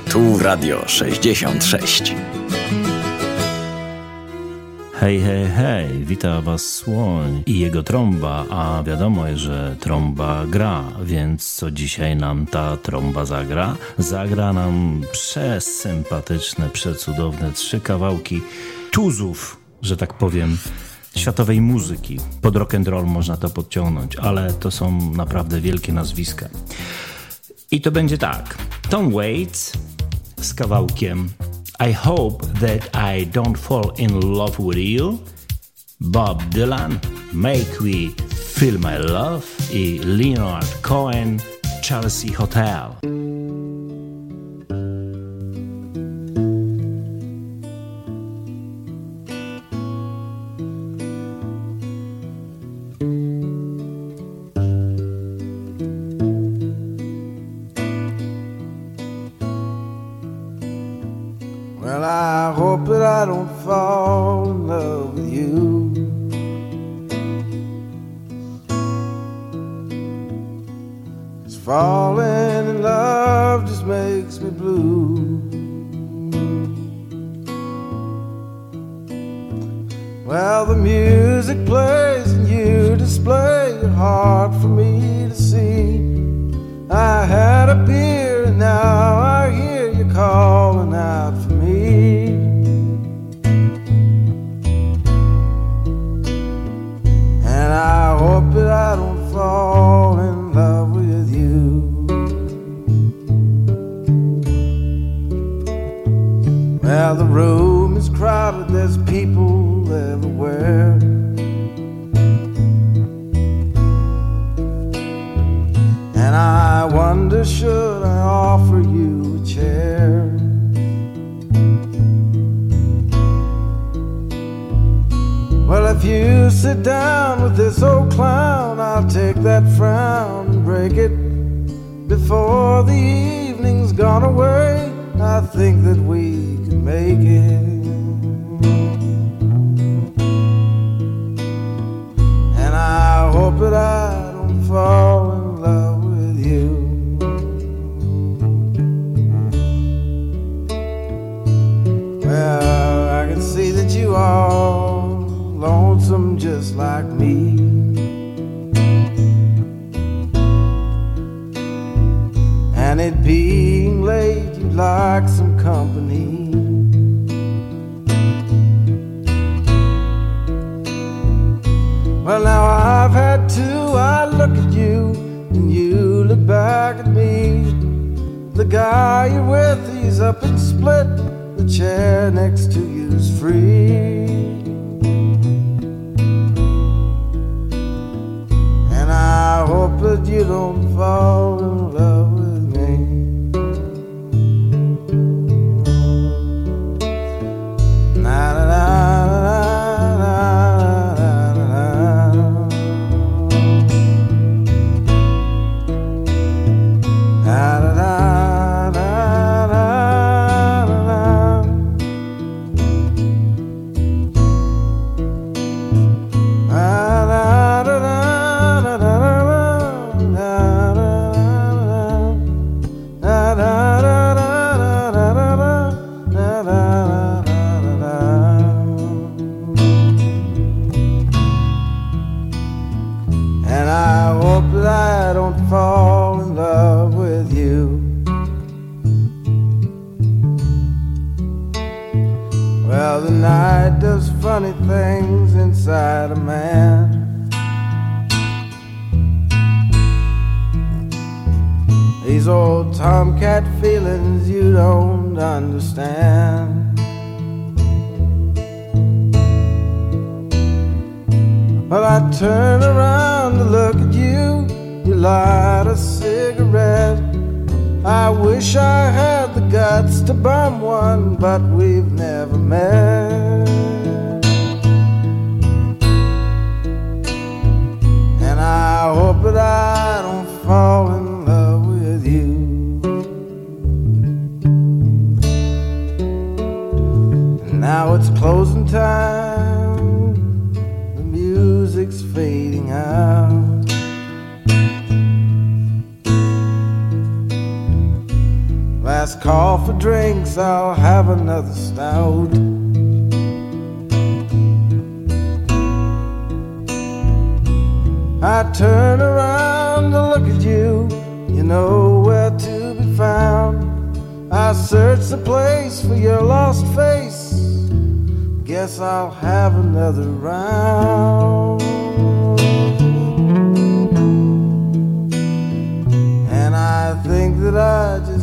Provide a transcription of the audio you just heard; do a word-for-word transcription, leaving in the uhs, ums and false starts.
Tu Radio sześćdziesiąt sześć. Hej, hej, hej, wita was Słoń i jego trąba, a wiadomo, że trąba gra, więc co dzisiaj nam ta trąba zagra? Zagra nam przesympatyczne, przecudowne trzy kawałki tuzów, że tak powiem, światowej muzyki. Pod rock and roll można to podciągnąć, ale to są naprawdę wielkie nazwiska. I to będzie tak. Tom Waits z kawałkiem I Hope That I Don't Fall In Love With You, Bob Dylan, Make Me Feel My Love i Leonard Cohen, Chelsea Hotel. Well, I hope that I don't fall in love with you. Cause falling in love just makes me blue. Well, the music plays and you display your heart for me to see. I had a beer and now I hear you calling out for me. And I hope that I don't fall in love with you. Well, the room is crowded, there's people everywhere. And I wonder, should I offer you a chair? Well, if you sit down with this old clown, I'll take that frown and break it before the evening's gone away. I think that we can make it. And I hope that I don't fall in love with you. Well, I can see that you are lonesome just like me. And it being late, you'd like some company. Well, now I've had two. I look at you and you look back at me. The guy you're with, he's up and split. The chair next to you's free. And I hope that you don't fall in love with me. Na na na. Fall in love with you. Well, the night does funny things inside a man. These old tomcat feelings you don't understand. Well, I turn around to look at you. You light a cigarette. I wish I had the guts to bum one, but we've never met. And I hope that I don't fall in love with you. And now it's closing time. The music's fading out. Last call for drinks, I'll have another stout. I turn around to look at you, you know where to be found. I search the place for your lost face, guess I'll have another round. And I think that I just